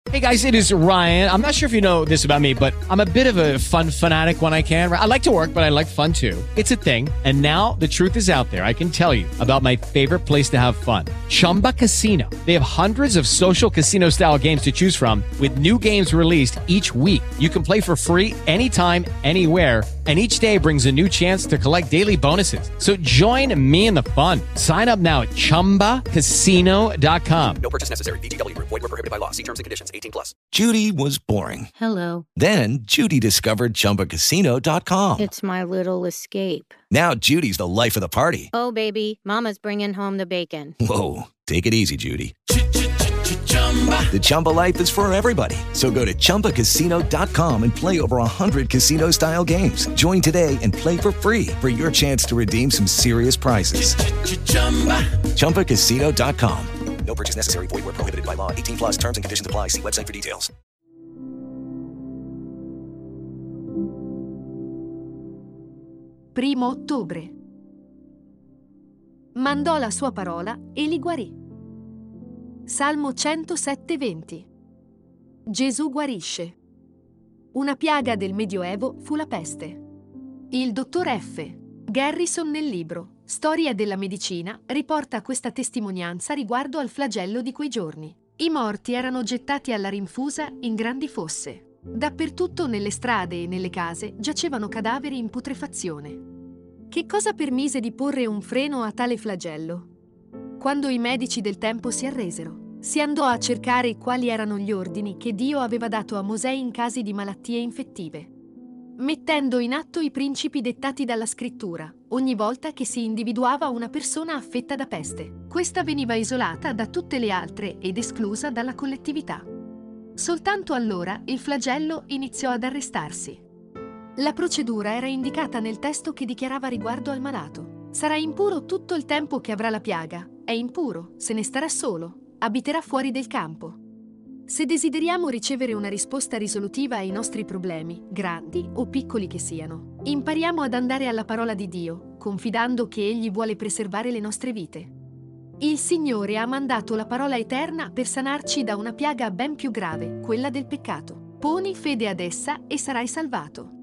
Hey guys, it is Ryan. I'm not sure if you know this about me, but I'm a bit of a fun fanatic when I can. I like to work, but I like fun too. It's a thing. And now the truth is out there. I can tell you about my favorite place to have fun. Chumba Casino. They have hundreds of social casino style games to choose from with new games released each week. You can play for free anytime, anywhere. And each day brings a new chance to collect daily bonuses. So join me in the fun. Sign up now at ChumbaCasino.com. No purchase necessary. VGW. Void where prohibited by law. See terms and conditions. 18+. Judy was boring. Hello. Then Judy discovered ChumbaCasino.com. It's my little escape. Now Judy's the life of the party. Oh, baby, mama's bringing home the bacon. Whoa, take it easy, Judy. The Chumba life is for everybody. So go to ChumbaCasino.com and play over 100 casino-style games. Join today and play for free for your chance to redeem some serious prizes. ChumbaCasino.com. No purchase necessary. Void where prohibited by law. 18+. Terms and conditions apply. See website for details. 1 ottobre. Mandò la sua parola e li guarì. Salmo 107:20. Gesù guarisce. Una piaga del Medioevo fu la peste. Il dottor F. Garrison nel libro Storia della medicina riporta questa testimonianza riguardo al flagello di quei giorni. I morti erano gettati alla rinfusa in grandi fosse. Dappertutto nelle strade e nelle case giacevano cadaveri in putrefazione. Che cosa permise di porre un freno a tale flagello? Quando i medici del tempo si arresero, si andò a cercare quali erano gli ordini che Dio aveva dato a Mosè in casi di malattie infettive, mettendo in atto i principi dettati dalla scrittura ogni volta che si individuava una persona affetta da peste. Questa veniva isolata da tutte le altre ed esclusa dalla collettività. Soltanto allora il flagello iniziò ad arrestarsi. La procedura era indicata nel testo che dichiarava riguardo al malato: sarà impuro tutto il tempo che avrà la piaga, è impuro, se ne starà solo, abiterà fuori del campo. Se desideriamo ricevere una risposta risolutiva ai nostri problemi, grandi o piccoli che siano, impariamo ad andare alla parola di Dio, confidando che Egli vuole preservare le nostre vite. Il Signore ha mandato la parola eterna per sanarci da una piaga ben più grave, quella del peccato. Poni fede ad essa e sarai salvato.